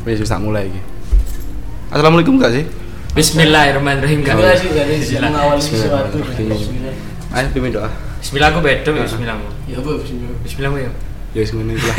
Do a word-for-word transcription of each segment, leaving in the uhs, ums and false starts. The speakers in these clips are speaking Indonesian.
Wis wis tak mulai iki. Assalamualaikum gak sih? Bismillahirrahmanirrahim. Enggak sih, enggak sih mengawali sesuatu. Ayo pimpin doa. Bismillah aku bedo ya bismillahmu. Ya apa bismillah. Bismillahmu ya. Ya wis ngene iki lah.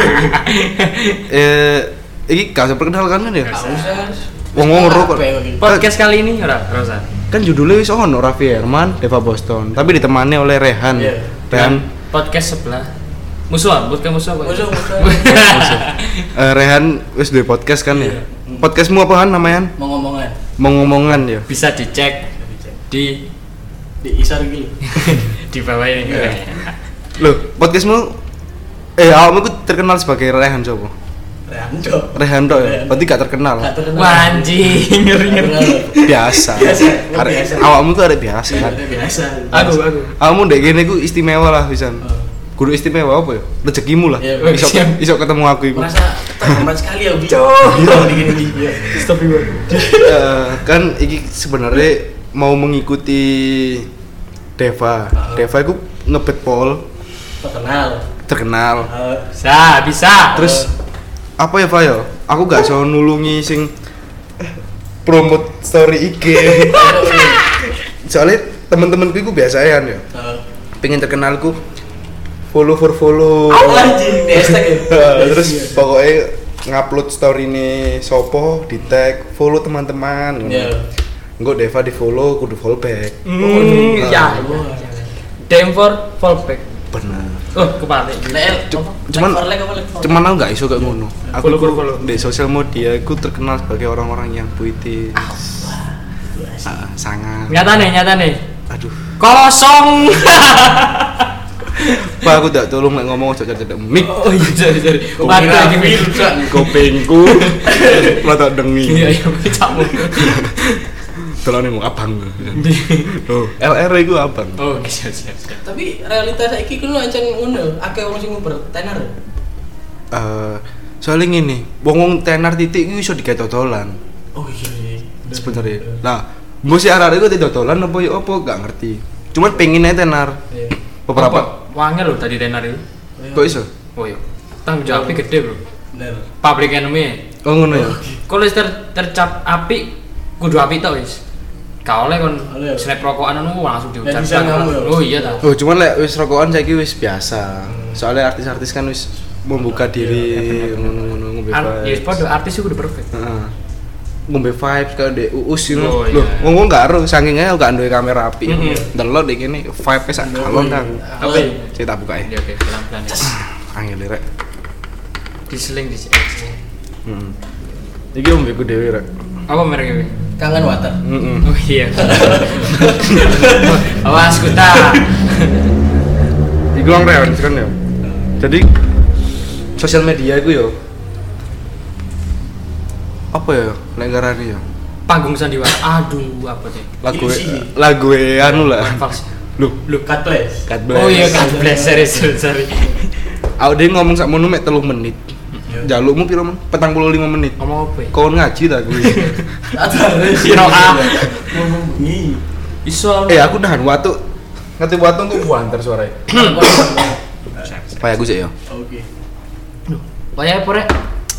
Eh iki gak usah perkenalkan kan ya? Enggak usah. Wong-wong ro kok. Podcast kali ini ora ora. Kan judulnya wis ono Raffi Herman, Deva Boston, tapi ditemani oleh Rehan. Iya. Rehan Podcast sebelah. Musuh, podcast musuh apa? Musuh, musuh. eh, Rehan wis duwe podcast kan ya? Podcastmu apaan namanya? Mau ngomongan. Mau ngomongan ya? Bisa dicek di Di isar gitu. di bawah ini. Loh, podcastmu eh awakmu ku terkenal sebagai Rehan coba? Rehan cok. Rehan tok ya? Berarti gak terkenal. Gak terkenal. Wah, anjing, ngeri-ngeri. Biasa. Biasa, Arek biasa. awakmu tuh arek biasa kan. Biasa. Aku aku. Awakmu ndek kene ku istimewa lah pisan. Kudu istimewa apa ya? Rezekimu lah. Iya, Iso siap. iso ketemu aku iku. Merasa terhormat sekali ya, Bi. Cok. Gitu gini gini. Stop iku. Eh, kan iki sebenarnya mau mengikuti Deva. Uh. Deva itu ngebet pol Terkenal. terkenal. Eh, Bisa, bisa. Terus apa ya, Pak ya? Aku gak iso nulungi sing promote story I G. Soalnya temen-temenku itu biasaan ya. eh, Pengen terkenalku follow for follow. Anjing, di hashtag ya. Terus pokoknya ngupload story ini sopo di tag follow teman-teman. Iya. Enggak Deva di follow, kudu follow back. Hmm, Nah, ya. D M for fallback. bener. Oh, kebalik. Lel, Cuman- like like apa like? Cuman aku nggak iso kayak ngono. Aku Follow, ku follow, follow. di sosial media aku terkenal sebagai orang-orang yang puitis. Ah, sangat. Nyata nih, nyata nih. Aduh. Kosong. Pak aku tak tolong nek ngomong aja cedek mic. Oh iya, sorry sorry. Kuping Mata aku iki. rusak. Kupingku mata dengi. Iya, iya, kecapmu. Tolone mau abang. Oh, L R iku abang. Oh, siap siap. siap. Tapi realitas saiki ku ancen ngono, akeh wong sing nguber tenar. Eh, soalnya ngene, wong-wong tenar titik iku iso digawe dodolan Oh iya. sebenarnya. Nah, mbok si arek iku dodolan apa ya apa gak ngerti. Cuman pengen ae tenar. Iya. Beberapa Wangel lho tadi tenar itu. kok iso? Oh iya. Tanggung jawabnya gede, Bro. Bener. Public enemy. Oh ngono ya. Kalau wis ter tercap api kudu api tok wis. Gak oleh kon Oleh. snap rokokan anu langsung diucap. bisa kamu ya? Oh iya ta. Oh, cuman lek wis rokokan saiki wis biasa. Soalnya artis-artis kan wis membuka diri ngono-ngono ngombe Ar- Ya vibes. padha artis iku udah perfect. Heeh. Ngombe vibes kayak ndek Uus gitu. Oh, Loh, iya. ngomong gak ero saking ae gak duwe kamera api. Mhm. Delok dek kene vibe-e sak galon kan. Apa ya? Saya tak buka Ya ya. oke, pelan-pelan. ya. Angel rek. Diseling di Heeh. Iki ombeku dhewe rek. Apa mereknya? Kangen water. Heeh. Oh iya. Awas kuta. Iku wong real kan ya. Jadi sosial media iku yo apa ya nek ngarani ya? Panggung sandiwara. Aduh, apa teh? Lagu Ipsi. lagu anu lah. Fals. Loh, Look cut place. kat Oh iya kan, bless sorry sorry. sorry. Aku dia ngomong sak mono mek telung menit. Jalukmu piro men? petang puluh lima menit. Ngomong apa ya? Kau ngaji ta kuwi. Ada. Siro A. Ngomong bengi. Iso. Eh aku nahan watu. Ngerti watu kok buantar suaranya. Supaya aku sih ya. Oke. Waya apa rek?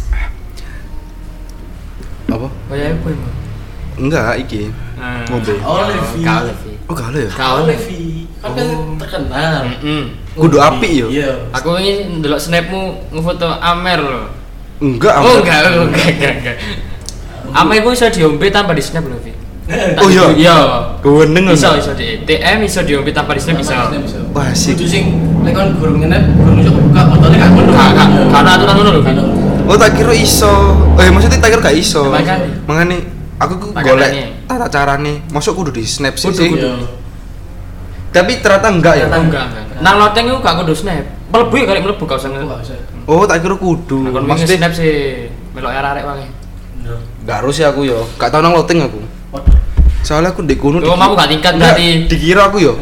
Apa? Waya apa emang? Enggak iki. Ngombe. Oh, Levi. Kau Levi. Oh gak ada ya? Kau Oh, Levi. Levi. Kan kan terkenal. Heeh. Kudu api yo. Iya. Aku ini ndelok snapmu ngefoto Amer loh. Enggak, Oh Amber. enggak, oh, enggak, enggak, enggak. Amer iku iso diombe tanpa di snap lho, Vi. Oh iya. Iya. Keweneng Iso iso di T M iso diombe tanpa di snap bisa. Wah, asik. Kudu sing lek kon gurung ngenep, gurung iso buka motornya gak ngono. Gak gak karena aturan ngono lho, Vi. Oh tak kira iso. Eh maksudnya tak kira gak iso. Makanya. Makanya aku ku Makanya. golek tata carane. Masuk kudu di snap sih. Kudu, sih. kudu. Tapi ternyata enggak ya. Ternyata enggak, enggak. Nang loteng iku gak kudu snap. Mlebu ya kali mlebu gak usah Enggak nge. usah. Oh tak kira kudu. Aku Maksudnya snap sih melok arek-arek wae. Bener. gak harus ya aku yo. Gak tau nang loteng aku. Waduh. Soalnya aku di kuno. Oh, kamu gak tingkat Enggak, berarti. dikira aku yo.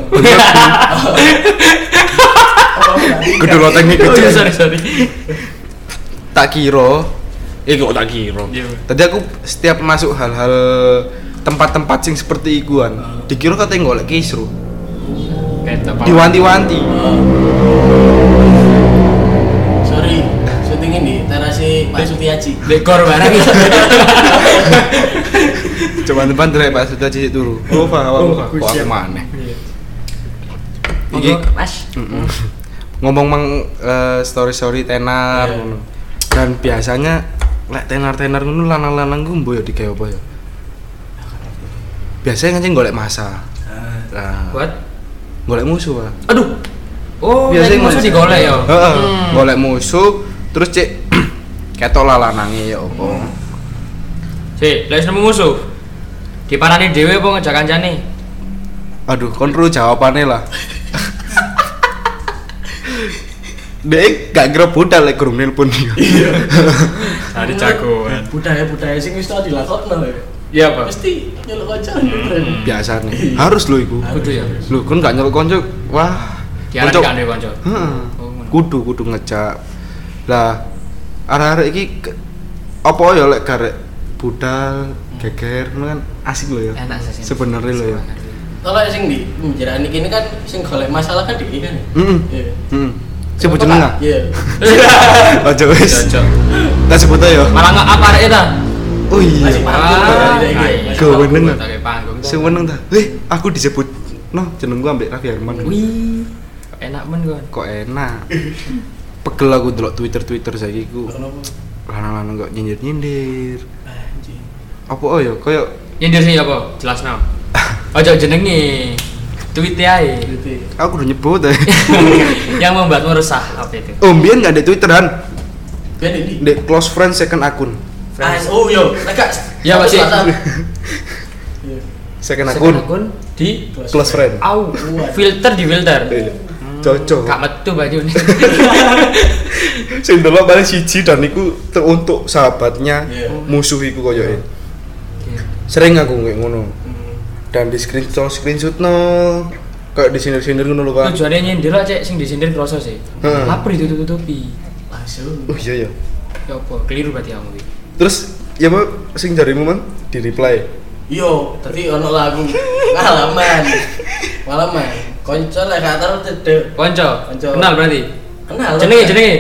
Kudu Kudu lotengnya Oh, gede. iya, sorry sorry. Tak kira. Eh kok tak kira. Iya. Tadi aku setiap masuk hal-hal tempat-tempat sing seperti ikuan, dikira katanya golek kisru. Ketok. Diwanti-wanti. Sorry, syuting ini terasi Pak Sutiaji. Dekor barang. Coba depan delek Pak Sutiaji turu. Oh, paham Oh, kok aku maneh. Iki Iki Mas. mm-mm. ngomong mang eh, story-story tenar Iya. ngono. Dan biasanya lek tenar-tenar ngono lanang-lanang ku mbo ya digawe apa ya? Biasanya ngancing golek masa. Nah, Buat golek musuh, Pak. aduh. Oh, Biasanya biasanya musuh ngono. digolek ya. Heeh, Hmm. golek musuh terus cek ketok lah lanange ya apa. Si, lek nemu musuh. Diparani dhewe apa ngejak kancane? Aduh, kon perlu jawabannya lah. Dek gak kira budal lek gurung nelpon dia. Tadi jagoan. Budaya-budaya sing wis tau dilakokno ya. Iya, Pak. Mesti nyeluk kancan keren. Biasa nih. Harus lo iku. Kudu ya. Lu kon gak nyeluk konco. Wah. Diarani konco- kan dhewe kanca. Heeh. Oh, ngono. Kudu kudu ngejak. Lah arek-arek iki ke- apa ya lek garek budal geger ngono kan asik lho ya. Enak sih. Sebenarnya lho ya. Kalau sing di menjerani kini kan sing golek masalah kan di kan. Heeh. Iya. Heeh. Sebut jeneng ah. Iya. Aja wis. Cocok. Tak sebut aja. Malah nggak apa arek ta? Oh iya. Masih panggung Ah, berarti iki. iya. Masih Gawe panggung. neng. Pakai panggung. Sing meneng ta. Eh, aku disebut no jeneng gua ambek Raffi Herman. Wih. Enak men kon. Kok enak. Pegel aku delok Twitter-Twitter saiki ku. Kenapa? Lanang-lanang kok nyindir-nyindir. Anjing. Apa oh ya koyo Nyindir sih apa? Jelas no. Ojo jenenge. Tweet ae. Gitu. aku udah nyebut ya. Yang membuatmu resah apa itu? Oh, mbien enggak ada Twitteran. Ben ini. Di close friend second akun. Ah, oh yo, mereka. Ya, Pak, sih. Iya. Second Second akun. akun di Close friend. au filter di filter. Iya. Cocok. Gak metu baju ini. Sing delok paling siji dan iku te- untuk sahabatnya Iya. musuh iku koyoke. Sering aku kayak ngono. Dan di screenshot screenshot no kayak disindir-sindir ngono lho, Pak. Tujuannya nyindir lah cek sing disindir kroso sih. Heeh. Lapar itu tutupi. Langsung. Oh iya ya. Ya apa? Keliru berarti kamu iki. Terus ya Pak sing jarimu Mang di reply. Yo, tadi ono lagu ngalaman. Ngalaman. Konco lek gak tau cedek. Konco. Konco. Kenal berarti. Kenal. Jenenge jenenge.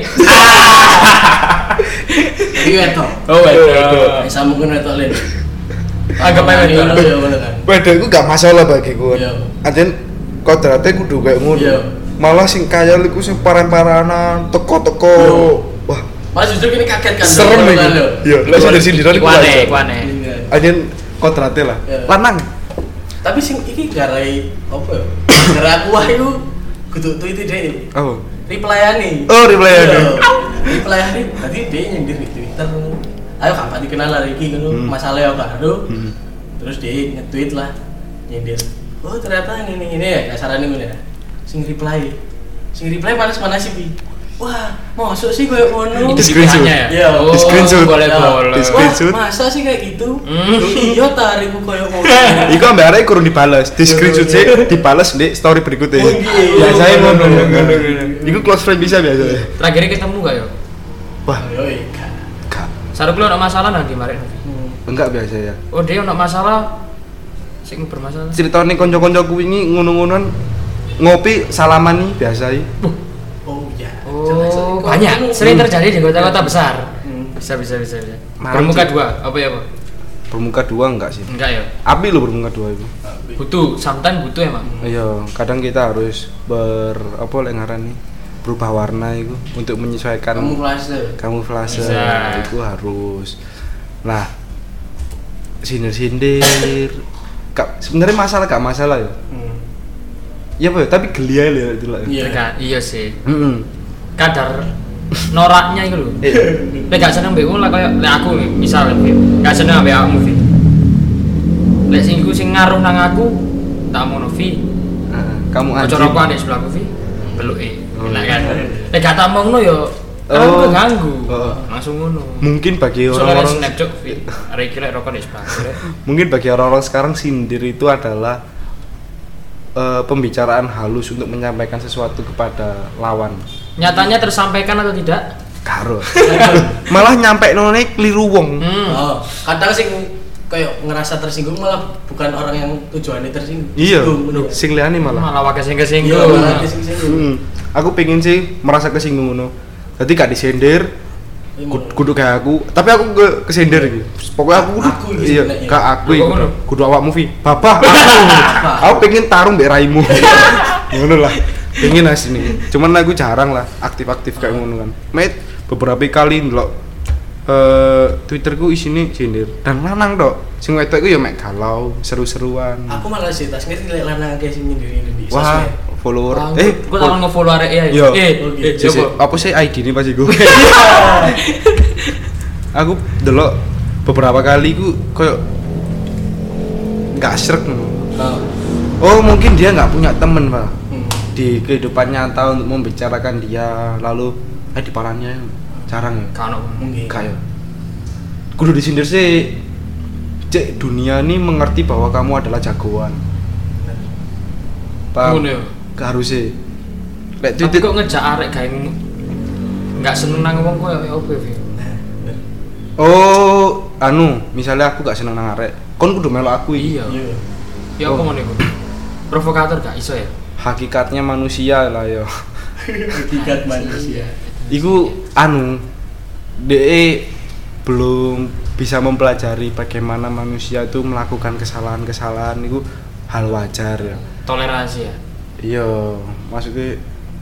Iki wetok. Oh, waduh. Bisa mungkin wetok le. Anggap aja wetok. Ngono ya ngono kan. Padahal iku gak masalah bagiku. Iya. Anjen kodrate kudu kayak ngono. Iya. Malah sing kaya iku sing paran-paranan, teko-teko. Iya. Wah, Mas justru ini kaget kan. serem Ngono iki. kan, lho. Iya, lek sindir-sindiran iku Iku aneh, wajar. iku aneh. Iya. Anjen kodrate lah. Iya. Lanang. Tapi sing iki garai apa ya? Garai aku wah iku kudu tweet deh. Oh. Reply-ane. Oh, reply-ane. Iya. Reply-ane berarti dia nyindir di Twitter. Ayo kapan dikenal lagi ngono, Hmm. masalah ya karo. Hmm. Terus dia nge-tweet lah nyindir. Oh, ternyata ini ini ini ya kasarannya ngono ya. Sing reply. Sing reply manas-manas sih. Wah, masuk sih koyo ngono. Di screenshot. pikirannya ya? Iya. Oh, Di screenshot. boleh-boleh. Di screenshot. Wah, masa sih kayak gitu? Hmm. Iya, tarikku koyo ngono. Iku ambek arek kurang dibales, di screenshot sih dibales di story berikutnya. Oh, iya. Biasanya ngono Iya. ngono ngono. Iku close friend bisa biasa. Terakhir ketemu gak yo? Wah, Yo, iya. gak. Sarep lu ono masalah nang di mari. Enggak biasa ya. Oh, dia ono masalah sing bermasalah. Ceritane kanca-kancaku wingi ngono-ngonon ngopi salaman nih biasa iki. Oh, iya. Oh, banyak. Sering terjadi di kota-kota besar. Hmm. Bisa bisa bisa bisa. Malam Bermuka sih. dua, apa ya, Pak? Bermuka dua enggak sih? Enggak ya. Api lo bermuka dua itu. Butuh, sometimes butuh emang. Iya, kadang kita harus ber apa lek ngarani berubah warna itu untuk menyesuaikan Kamuflase. kamuflase Bisa. itu harus. Nah, sindir-sindir. Kak, sebenarnya masalah gak masalah ya. Hmm. Iya Pak, tapi geli aja ya itu lah. Iya. Enggak, iya sih. Heeh. Kadar noraknya itu lho. Iya. Lek gak seneng mbek lah kayak lek aku misal gak seneng ambek aku Vi. Lek sing iku sing ngaruh nang aku tak mau Vi. Heeh. Kamu Ojo anjing. rokok nek sebelahku Vi. Beluke. Oh, Enak iya. kan. Lek gak tak mongno yo kan Oh. keganggu. Oh. Langsung ngono. Mungkin bagi Soalnya orang-orang snap cok Vi. Arek iki lek rokok nek sebelah. mungkin bagi orang-orang sekarang sindir itu adalah eh, pembicaraan halus untuk menyampaikan sesuatu kepada lawan. Nyatanya tersampaikan atau tidak? Karo. Malah nyampe none keliru wong. Hmm. Oh, kadang sing kayak ngerasa tersinggung malah bukan orang yang tujuannya tersinggung. Iya. Singgung, Sing liyane malah. Malah wae sing Iya, kesinggung. malah disinggung. Hmm. Aku pengen sih merasa kesinggung ngono. Jadi gak disindir, Kud- kudu kayak aku, tapi aku ke kesender iki. Pokoknya aku kudu Aku iki iya, sebenarnya. kayak aku Aku iki. ngono. Kudu awak movie. Bapak, aku. Aku pengen tarung mbek raimu. Ngono lah. Pengen asini. Cuman aku jarang lah aktif-aktif kayak ngono kan. Met beberapa kali ndelok eh Twitterku isine sindir dan lanang tok. Sing wedok iku ya mek galau, seru-seruan. Aku malah sih tas ngerti lek lanang akeh sing nyindir-nyindir di Wah, sosmed. follower. Wah, Eh, gua lawan nge-follow arek ya. Yo. Eh, Oke. eh, Sisi, coba. apa sih I D ini pasti gue? Aku delok beberapa kali ku koyo nggak srek. Oh. Oh mungkin dia nggak punya temen pak Hmm. di kehidupan nyata untuk membicarakan dia lalu eh di parannya jarang ya. Kan Mungkin. Kayak kudu disindir sih. Cek dunia ini mengerti bahwa kamu adalah jagoan. Paham? Ngono ya. Gak harus sih. Lek Tapi titik kok ngejak arek gawe ngono. Enggak seneng nang wong koyo opo ya. Nah, bener. oh anu misalnya aku gak seneng nang arek kon kudu melok aku iki. Iya. Iya. Ya apa ngono iku? Provokator gak iso ya? Hakikatnya manusia lah yo. Tiga manusia. Iku anu de belum bisa mempelajari bagaimana manusia itu melakukan kesalahan-kesalahan itu hal wajar ya. Toleransi ya. Iya, maksudnya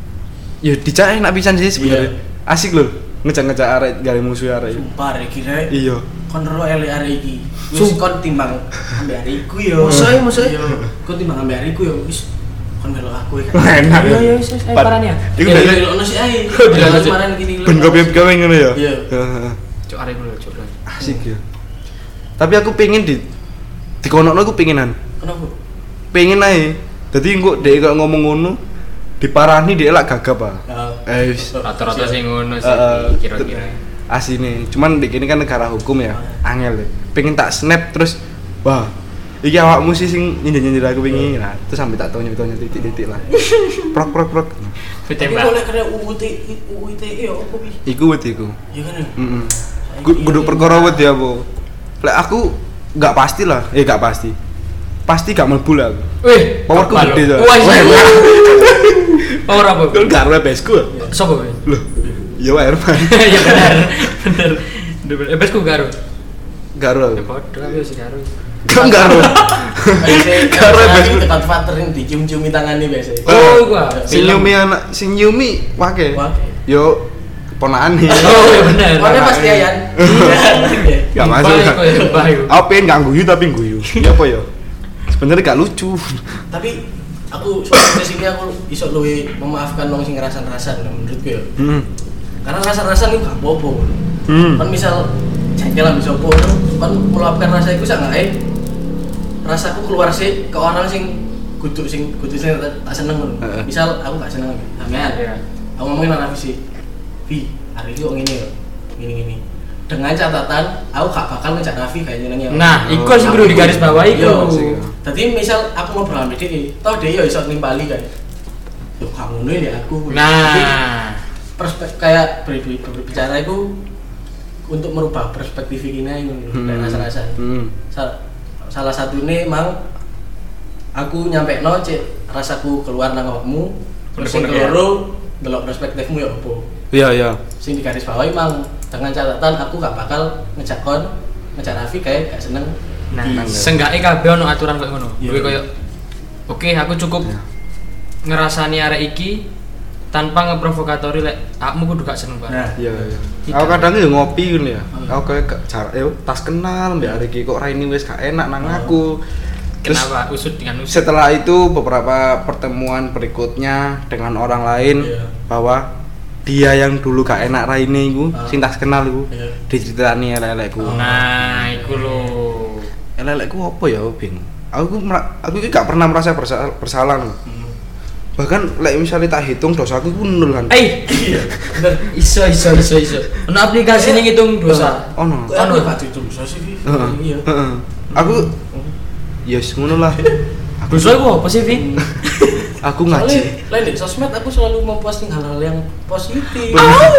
ya dicak enak pisan sih sebenarnya. Iya. Asik loh ngejak-ngejak arek gawe musuh arek. Sumpah rek kira. Iya. Kon ro elek arek iki. Wis Sum- kon timbang ambek arek iku yo. Mosok e, mosok e. Yo, kon timbang ambek arek iku yo wis kon melok aku ya. Enak. Iya iya wis ae Pat- parane ya. Iku Ya dari ono sih ae. Dilalui. Kemarin gini. ben gawe-gawe ngono ya. Iya. Heeh. Cuk arek dulu cuk. Asik ya. Tapi aku pengen di dikonokno aku pengenan. Kenapa? Pengen ae. Dadi engko dhek kok ngomong ngono diparani dhek lak gagap ah. Eh wis. Rata-rata sing ngono sih Heeh. kira-kira. Asine, cuman di kene kan negara hukum ya, angel deh. Pengen tak snap terus, wah, iki awakmu sih sing nyindir-nyindir aku wingi, nah terus sampai tak tau nyebut titik-titik lah. Prok prok prok. Tapi Ditembak. boleh kena U U T U U T E apa bi? Iku wet iku. Ya kan. ya? Heeh. Kudu perkara wet ya, Bu. Lek aku nggak pasti lah, eh nggak pasti. Pasti gak mlebu lah aku. Wih, Powerku kepala. gede tuh. Wah, iya. Power apa? Kau gak ada besku. Sopo kowe? Loh. Ya wae Herman. Ya benar. Bener. Bener. Eh besku karo. Garo Ya aku. padha aku sih karo. Kan garo. Karo Karena bes- ini tempat faterin dicium-ciumi tangannya biasa. Oh, gua. Sing nyumi anak, sing nyumi wake. Wake. Yo ponakane. Oh, iya bener. Warnanya pasti Ayan. Iya. Gak masuk. Baik kok ya, baik. Aku pengen gak guyu tapi guyu. Ya apa ya? Sebenarnya gak lucu. Tapi aku soal sini aku iso luwe memaafkan wong sing ngerasan-rasan menurutku ya. Hmm. Karena rasa-rasan itu gak apa-apa. Hmm. Kan misal jengkel ambek sapa kan meluapkan rasa iku sak ngae rasaku keluar sih ke orang sing kudu sing kudu sing tak tak seneng ngono. Heeh. Misal aku gak seneng sampean. Iya. Aku ngomongin anak visi. Vi, hari ini kok ngene ya. Gini-gini. Dengan catatan aku gak bakal ngejak Nafi kayak nyenengnya. Nah, iku sing kudu digaris bawahi Iya. iku. Jadi misal aku ngobrol sama dia, tau dia ya iso nimpali kan. Yo kamu ngono ya aku. Jadi, Nah, perspek kayak ber- ber- berbicara itu untuk merubah perspektif ini ngono Hmm. dan rasa-rasa. Hmm. Sa- salah satunya emang aku nyampe no cek rasaku keluar nang awakmu terus sing Unek-unek ya. keloro delok perspektifmu ya apa. Iya iya. Sing digaris bawahi emang dengan catatan aku gak bakal ngejak kon ngejak Raffi kayak gak seneng. nah, di- seenggaknya kabeh ono aturan koyo ngono. Iya. Kuwi koyo oke, aku cukup Iya. ngerasani arek iki tanpa ngeprovokatori lek akmu kudu gak seneng banget. Nah, Iya iya. Tidak. Aku kadang yo ngopi ngono ya. Hmm. Aku kayak gak jarak yo tas kenal mbak hari iki kok Raini wis gak enak nang Hmm. aku. Terus Kenapa usut dengan usut? setelah itu beberapa pertemuan berikutnya dengan orang lain Iya. bahwa dia yang dulu gak enak Raini iku, Ah. sing tas kenal iku, Iya. diceritani elek-elekku. Oh. Nah, iku lho. Elek-elekku apa ya, Bing? Aku mera- aku iki gak pernah merasa bersalah, bersalah. loh. Hmm. Bahkan lek misalnya tak hitung dosaku iku nol kan. Eh, Iya, bener. iso iso iso iso. Ono aplikasi ning ngitung dosa. Ono. Kok aku gak ditulis sih, Vi? Heeh. Iya. Heeh. Aku yes ngono lah. Aku Dosa iku apa sih, Vi? aku Soalnya, ngaji. lain di sosmed aku selalu memposting hal-hal yang positif.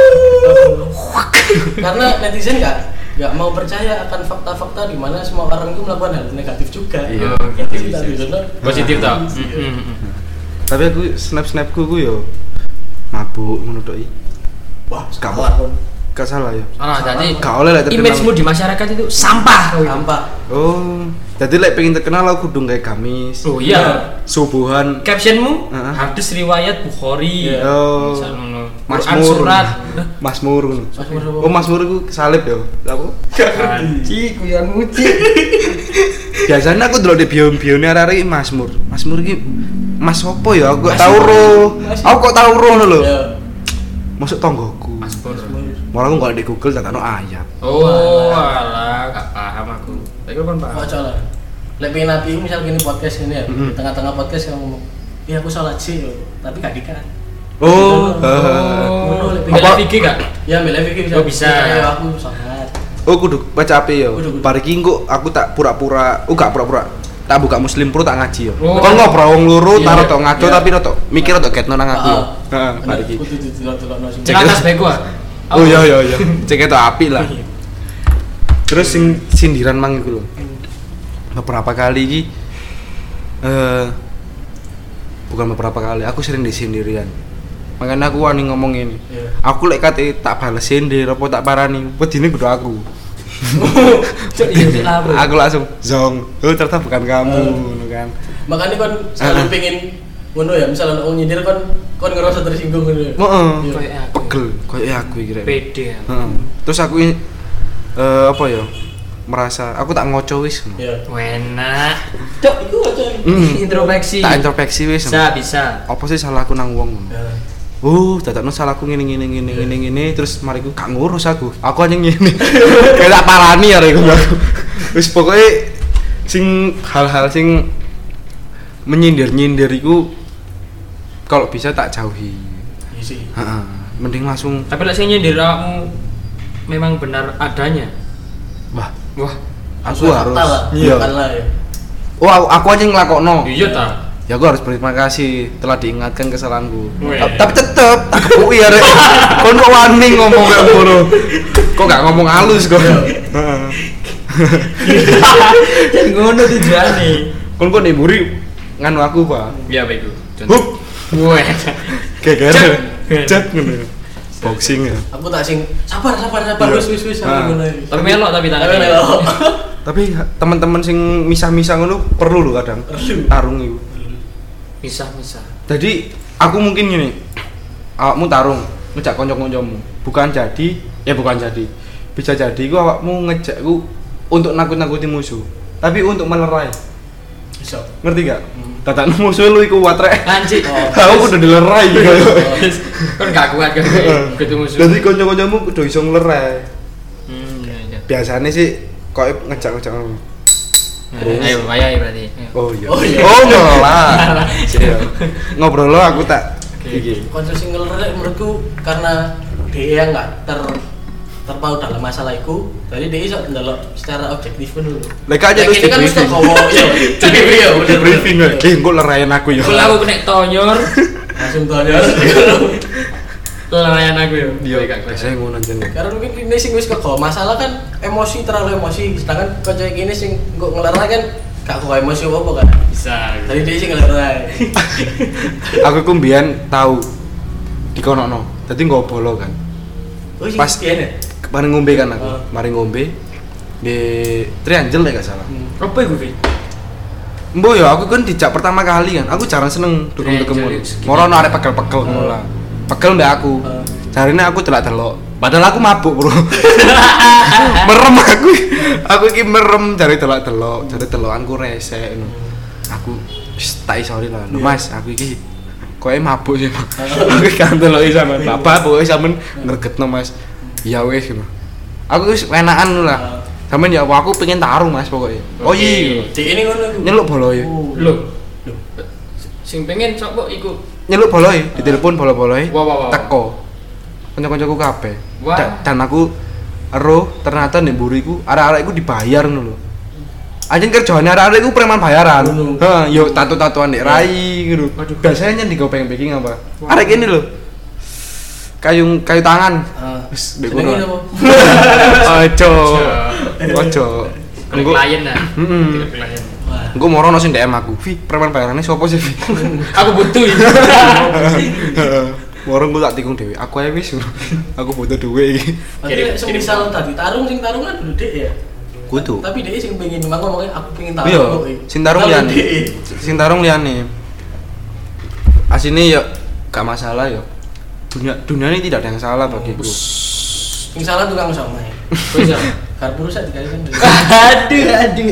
Karena netizen nggak nggak mau percaya akan fakta-fakta di mana semua orang itu melakukan hal negatif juga. Iya. Gitu sih tadi sana. Positif tau. Iya. Tapi aku snap-snapku ku yo mabuk ngono tok i. Wah, Gak salah, Kon. gak salah ya. Ah, jadi Gak oleh lah terkenal. image-mu di masyarakat itu sampah kau itu. Sampah. Oh, jadi lek pengen terkenal aku kudu gawe gamis. Oh iya. Subuhan. Captionmu Heeh. hadis riwayat Bukhari. Iya. Oh. Misalnya Mazmur. surat. Mazmur. Mazmur apa? Oh, Mazmur iku salib ya. Apa? Anji kuyan muci. Biasanya aku delok di bio-bione arek-arek Mazmur. Mazmur iki Mas opo ya? Aku gak tau Mazmur. roh. Mazmur. Aku kok tau roh lho. Ya. Masuk tonggoku. Mazmur. Malah aku gak di Google tak ono ayat. Oh, alah, gak paham aku. Tapi kan paham. Kok coba. Lek pengen nabi misal gini podcast ini ya, Mhm. di tengah-tengah podcast kamu ngomong, "Iya aku salat sih, yo." Tapi gak dikat. Oh, Oh. heeh. Bela Apa? fikih gak? Ya, milih fikir Oh, bisa. Ya, aku salat. Oh, kudu baca ape ya? Kudu, kudu. Bar iki engko aku tak pura-pura, oh gak pura-pura. Tak buka Muslim Pro tak ngaji ya. Oh. Kon ngobrol wong loro Iya, taruh tok ngaco iya. tapi tok mikir tok ketno nang aku. ya. Heeh, bar iki. Kudu didelok-delokno sing. Cek. Celakas bego ah. Oh iya iya iya. Cek itu api lah. Terus sing sindiran mang iku lho. Beberapa kali iki eh bukan beberapa kali, aku sering disindirian. Makanya aku wani ngomong ini. Iya. Aku lek kate tak bales sindir apa tak parani, wedine kudu aku. Cuk iya cek lapo. Aku langsung zong. Oh ternyata bukan kamu, ngono kan. Makanya kon selalu Ah. pengen ngono ya, misalnya orang nyindir kon kon ngerasa tersinggung ngono ya. Heeh. Iya. Kayak aku. Pegel koyo aku iki rek. Pede. ya. Heeh. Terus aku ini eh apa ya? Merasa aku tak ngoco wis. Iya. Enak. Cok, iku aja. Hmm. Introspeksi. Tak introspeksi wis. Bisa, bisa. Apa sih salahku nang wong ngono? Ya. Oh, dadakno salahku ngene ngene ngene ngene ngene terus mariku gak ngurus aku. Aku hanya ngene. Kayak tak parani arek iku aku. Wis pokoke sing hal-hal sing menyindir-nyindir iku kalau bisa tak jauhi. Iya sih. Heeh. Mending langsung Tapi lek sing nyindir awakmu memang benar adanya. wah, Wah, aku Sesuai harus fakta lah. iya. Bukan lah ya. Oh, aku, aku aja yang ngelakokno. iya ta. Ya aku harus berterima kasih telah diingatkan kesalahanku. Weh. Ta- Tapi tetep tak kepuki ya rek. Kon kok wani ngomong kayak ngono. Kok gak ngomong halus kok. Heeh. Jadi ngono tujuane. Kon kok nemburi nganu aku, Pak. Iya bego. Hup. Wah. Gegere. Cet. Cet ngono. Boxing ya. Aku tak sing sabar sabar sabar Iya. wis wis wis Ah. aku ngono. Tapi melok tapi Tapi tangannya. melok. Tapi teman-teman sing misah-misah ngono perlu lho kadang. Perlu. Tarung iku. Misah-misah. Jadi aku mungkin gini, awakmu tarung ngejak kanca-kancamu, bukan jadi, ya bukan jadi, bisa jadi ku awakmu ngejakku untuk nakut-nakuti musuh, tapi untuk melerai, Bisa. ngerti gak? Hmm. Tatan musuh lu iku kuat rek, Anjir. aku udah dilerai gitu. Kan gak kuat kan ketemu musuh. Jadi kanca-kancamu udah iso ngelerai. Hmm, iya iya. Biasanya sih kok ngejak-ngejak ngono. Nah, ayo ayo berarti. Ayo. Oh iya. Oh iya. Oh ngelah. Iya. Ngobrol lo aku tak iki. Konco sing ngelerek menurutku karena dia enggak ter terpaut dalam masalah itu, jadi dia iso ndelok secara objektif dulu. Lek aja terus Yang ini kan mesti kowo iya. Jadi iya di bener. briefing. Eh, engko lerayan aku ya. Kalau aku kena tonyor, Langsung tanya. lelayan aku ya. Iya, Gak kuat. saya ngono anjen. Karena mungkin ini sing wis kegawa masalah kan emosi terlalu emosi, sedangkan konco iki sing engko ngelerai kan gak kegawa emosi apa kan. Bisa. Tadi dia sing ngelerai. Aku ku mbiyen tau dikonokno. Dadi nggo bolo kan. Oh sing Pas- pian ya? Mari ngombe kan aku. Oh. Mari ngombe di Triangle lek gak salah. Hmm. Apa iku, Vi? Mbok ya aku kan dijak pertama kali kan. Aku jarang seneng dukung-dukung Triangle ngono. segini. Morono arek pegel-pegel ngono lah. Pegel mbak aku. Oh. Jarine aku delok-delok. Padahal aku mabuk, Bro. Merem aku. Aku iki merem jare delok-delok, jare delokanku resek ngono. Aku wis tak isori lah. Lho Iya. Mas, aku iki koe mabuk sih. Mas. Aku kan deloki sampean. Bapak pokoke sampean ngregetno Mas. Ya wis ngono. Aku wis enakan ngono lah. Sampeyan ya aku pengen tarung Mas pokoknya. Oh iya. Cek ini ngono iku. Nyeluk boloe. Oh. Loh. Loh. Sing pengen sapa iku? Nyeluk boloe, ditelepon bola-boloe. Wah, wah, wah. Teko. Kanca-kancaku kabeh. Wah. Da- Dan aku ero ternyata nek mburi iku arek-arek iku dibayar ngono lho. Anjen kerjane arek-arek iku preman bayaran. Ngono. Heeh, yo tato-tatoan nek rai ngono. Waduh. Biasanya nyen digo packing apa? Wah. Arek ini lho. Kayu kayu tangan. Ah. Wis ndek Jenenge kono. apa? Ojo. Ojo. Kalau Engko klien lah. Mm-mm. Tidak klien. Wah. engko moro ono sing D M aku. Vi, preman bayarane sapa sih, Vi? Aku butuh ini. Warung ku tak tikung dhewe. Aku ae wis. Aku butuh duit iki. Berarti semisal tadi tarung sing tarung kan dulu Dek ya. Kudu. Tapi Dek sing pengen memang ngomongnya aku pengen tarung Iya, kok. sing tarung liyane. Sing tarung liyane. Asine ya gak masalah ya. Dunia dunia ini tidak ada yang salah bagiku. Sing salah tukang sama ya. Wis ya. Karpur sak dikali kan. Aduh, aduh.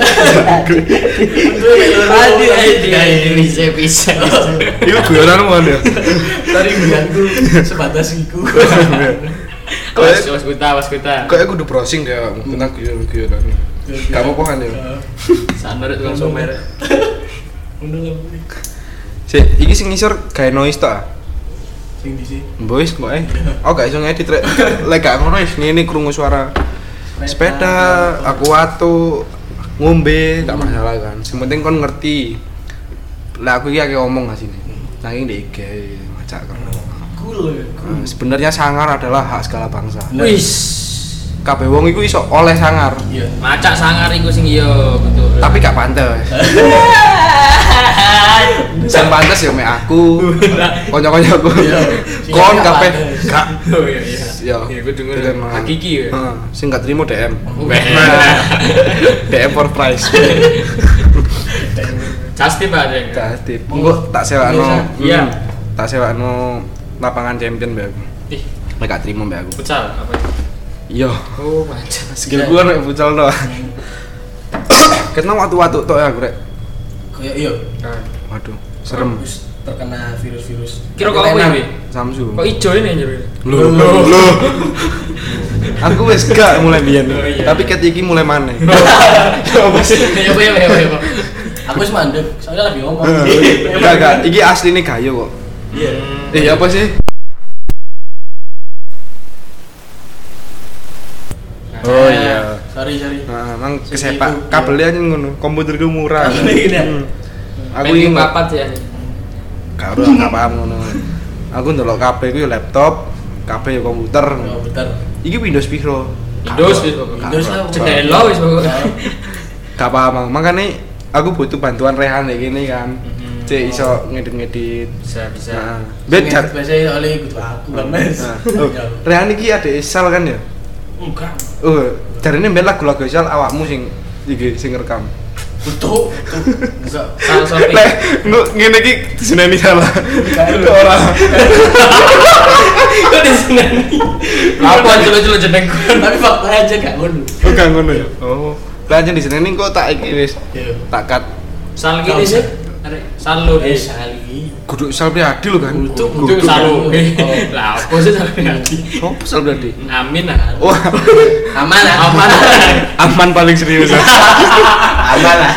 Aduh, aduh, bisa bisa. Iku guyonanmu kan ya. Tadi guyanku sebatas iku. Was was kuta, was kuta. Kayak aku udah browsing deh tentang guyon-guyonan. Kamu apa kan ya? Sanar tukang somer. Undang Si, iki sing ngisor gawe noise tok ah. sing di sini. Boys kok eh. Aku gak iso ngedit rek. Lek gak ngono wis ngene krungu suara sepeda, aku watu, ngombe, gak masalah kan. Sing penting kon ngerti. Lah aku iki akeh omong asine. Nanging ndek I G macak kan. Cool ya. Nah, sebenarnya sangar adalah hak segala bangsa. Wis. Kabeh wong iku iso oleh sangar. Iya. Macak sangar iku sing iya betul. Tapi gak pantes. Sing pantes ya mek aku. Kanca-kancaku. Iya. Kon kabeh gak. Oh iya iya. Ya. Iya, gue denger Terima. hakiki ya. Heeh, sing gak trimo D M. D M for price. Casti Pak Deng. Jadi, engko tak sewakno. Iya. Hmm, Tak sewakno lapangan champion mbak aku. Ih, Mek gak trimo mbak aku. futsal apa itu? Iya. Oh, macam. Skill gua nek futsal to. Ketemu watu-watu tok ya aku rek. Kayak iya. Waduh, serem. Terus terkena virus-virus. Kira kok apa ini? Samsu. Kok ijo ini anjir? Loh, loh. Aku wis gak mulai biyen. Oh, iya. Tapi ket iki mulai maneh. Apa sih? Ya apa ya apa ya apa. Aku wis mandek, soalnya lagi ngomong. Enggak, enggak. Iki asline gayo kok. Iya. Eh, apa sih? Oh iya. Sorry, sorry. Nah, emang kesepak kabelnya aja ngono. Komputerku murah. Kabelnya gini ya? Hmm. Aku Aku iki ingin papat ya. karo gak paham ngono. Aku ndelok kabeh ku ya laptop, kabeh ya komputer. Oh, bener. Iki Windows piro? Windows wis pokoknya. Windows lah. Jendela wis pokoknya. Gak paham, Mang. Makane aku butuh bantuan Rehan kayak gini kan. Mhm. Cek iso ngedit-ngedit. Bisa bisa. Nah, bet jar. Biasanya oleh ikut aku kan, Mas. Nah, oh, Rehan iki ada Isal kan ya? Enggak. Oh, jarine mbek lagu-lagu Isal awakmu sing iki sing rekam. Betul. Enggak. Sal Sofi. Lek, nu ngene iki diseneni salah. Ora. Kok di sini? Apa celo-celo jenengku? Tapi faktanya aja gak ngono. Oh, gak ngono ya. Oh. Lah jan diseneni kok tak iki wis. Iya. Tak cut. Sal gini sih. Arek Salu Eh, eh. sekali. Kudu Sal Priadi lho kan. Kudu, Itu Salu. Oh. Lah, apa sih Sal Priadi? Sopo Sal Priadi? Amin lah. Wah, Aman lah. Aman. aman paling serius. Aman lah.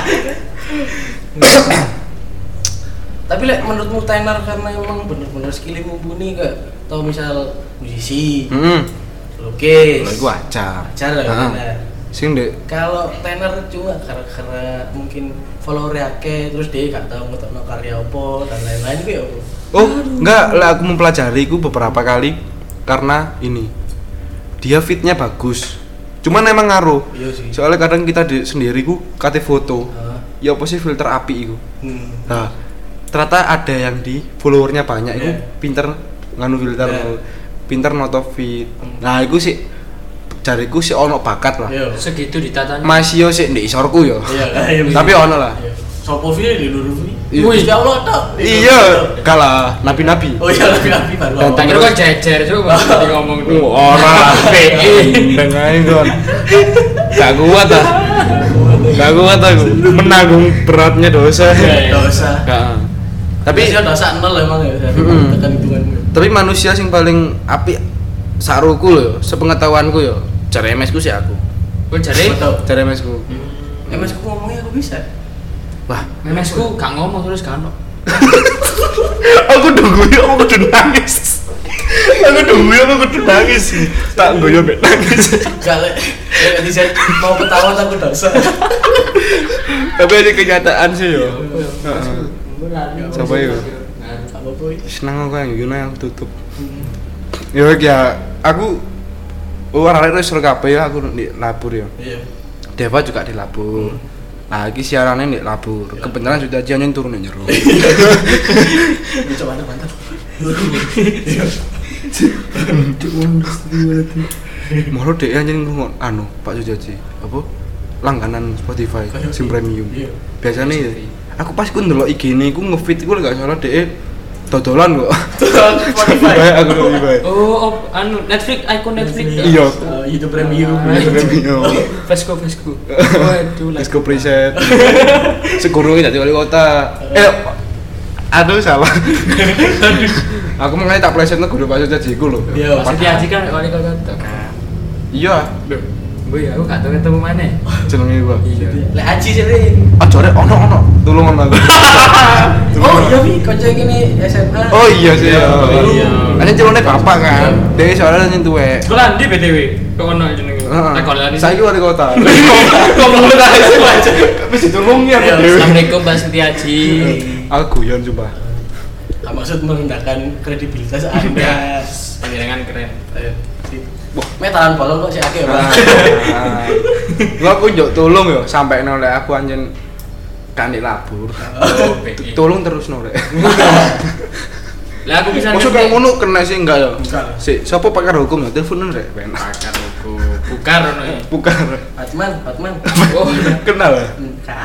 Tapi lek menurutmu tenar karena emang bener-bener skillnya mumpuni gak? Atau misal musisi, Heeh. lukis, Lha iku ajar. ajar lah Heeh. tenar. Sing ndek Kalau tenar cuma karena, karena mungkin follower akeh terus dia gak tahu ngetokno karya apa dan lain-lain itu ya apa? Oh, enggak, lah aku mempelajari itu beberapa kali karena ini. Dia fitnya bagus. Cuman emang ngaruh. Iya sih. Soalnya kadang kita di, sendiri ku kate foto. Heeh. Ya apa sih filter api iku. Hmm. Nah, ternyata ada yang di followernya banyak itu Yeah. pinter nganu filter, Yeah. pinter noto fit. Hmm. Nah, iku sih jariku sih ono bakat lah. Iya. Segitu ditatanya. Masih yo sih ndek isorku yo. Iya. Tapi ono lah. Iya. Sopo vi di luru vi. Iya. Wih, ya Allah tok. Iya, kalah nabi-nabi. Oh iya, nabi-nabi baru. Dan Tak kira kan jejer coba tadi ngomong tuh. Ora P I. dengan kon. Gak kuat ah. Gak kuat aku menanggung beratnya dosa. Iya, iya. Dosa. Gak. Tapi Tapi dosa nol emang ya. Mm-mm. Tekan hitungan. tapi manusia sing paling apik saruku lho, sepengetahuanku yo. Cara M S ku sih aku. Gue jadi Betul. Cara M S ku. Eh mas aku ngomongnya aku bisa. Wah, memesku gak ngomong terus kan. aku nunggu yo aku kudu nangis. Aku nunggu yo aku kudu nangis. Tak nggoyo mek nangis. Kalau kalau di mau ketawa aku dosa. Tapi ada kenyataan sih yo. Heeh. Siapa itu? Apa boy? Senang aku yang gini yang tutup. Ya ya, aku oh orang lain suruh kabeh ya aku di labur ya. Iya. Deva juga di labur. Nah, iki siarannya di labur. Kebenaran sudah aja yang turun yang nyeruk. Ini coba mantap mantap. Moro dhek anjing ngomong anu Pak Sujaji apa langganan Spotify sim premium. Biasanya ya aku pas ku ndelok I G-ne iku nge-feed iku lek gak salah dhek dodolan kok. Spotify. Aku Spotify. Oh, op, anu Netflix, icon Netflix. Iya. Uh, YouTube Premium. Premium. Vesco, Vesco. Waduh, Disco preset. Segurunge dadi wali kota. Eh aduh salah. Aku mengenai tak plesetno guru Pak Sujaji iku lho. Iya, Pasti Haji kan wali kota kan. Iya. Boy, aku gak tau ketemu mana. Jenenge gua. Iya. Lek Aji sering. Aja rek ono ono tulungan aku. Oh iya Wi, kanca gini S M A. Oh iya sih. Oh, iya. Kan celone bapak kan. Dhewe soalnya nyen tuwek. Sekolah ndi B T W? Kok ono jenenge? Heeh. Sekolah ndi. Saiki wali kota. Ngomong aja. Wis ditulungi aku. Iya. Dewe. Assalamualaikum Mbak Siti Haji. Aku guyon sumpah. Ah, maksud merendahkan kredibilitas Anda. Panjenengan keren. Ayo. Sip. Wah, metalan bolong kok sih akeh, Pak. Lo aku njuk tulung yo sampai nolek aku anjen kanik labur. Oh, B I. Tulung terus nolek. Lah aku bisa Masuk kayak ngono kena sih enggak ya? Enggak. Si, siapa pakar hukum ya? Teleponan rek, penak. pakar hukum. Bukar ono ya. Bukan. Batman, Batman. Oh, Kenal ya? Enggak.